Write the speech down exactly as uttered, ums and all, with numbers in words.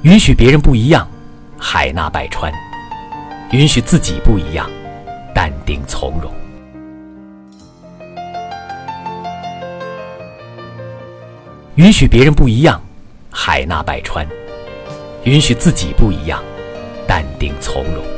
允许别人不一样，海纳百川；允许自己不一样，淡定从容。允许别人不一样，海纳百川；允许自己不一样，淡定从容。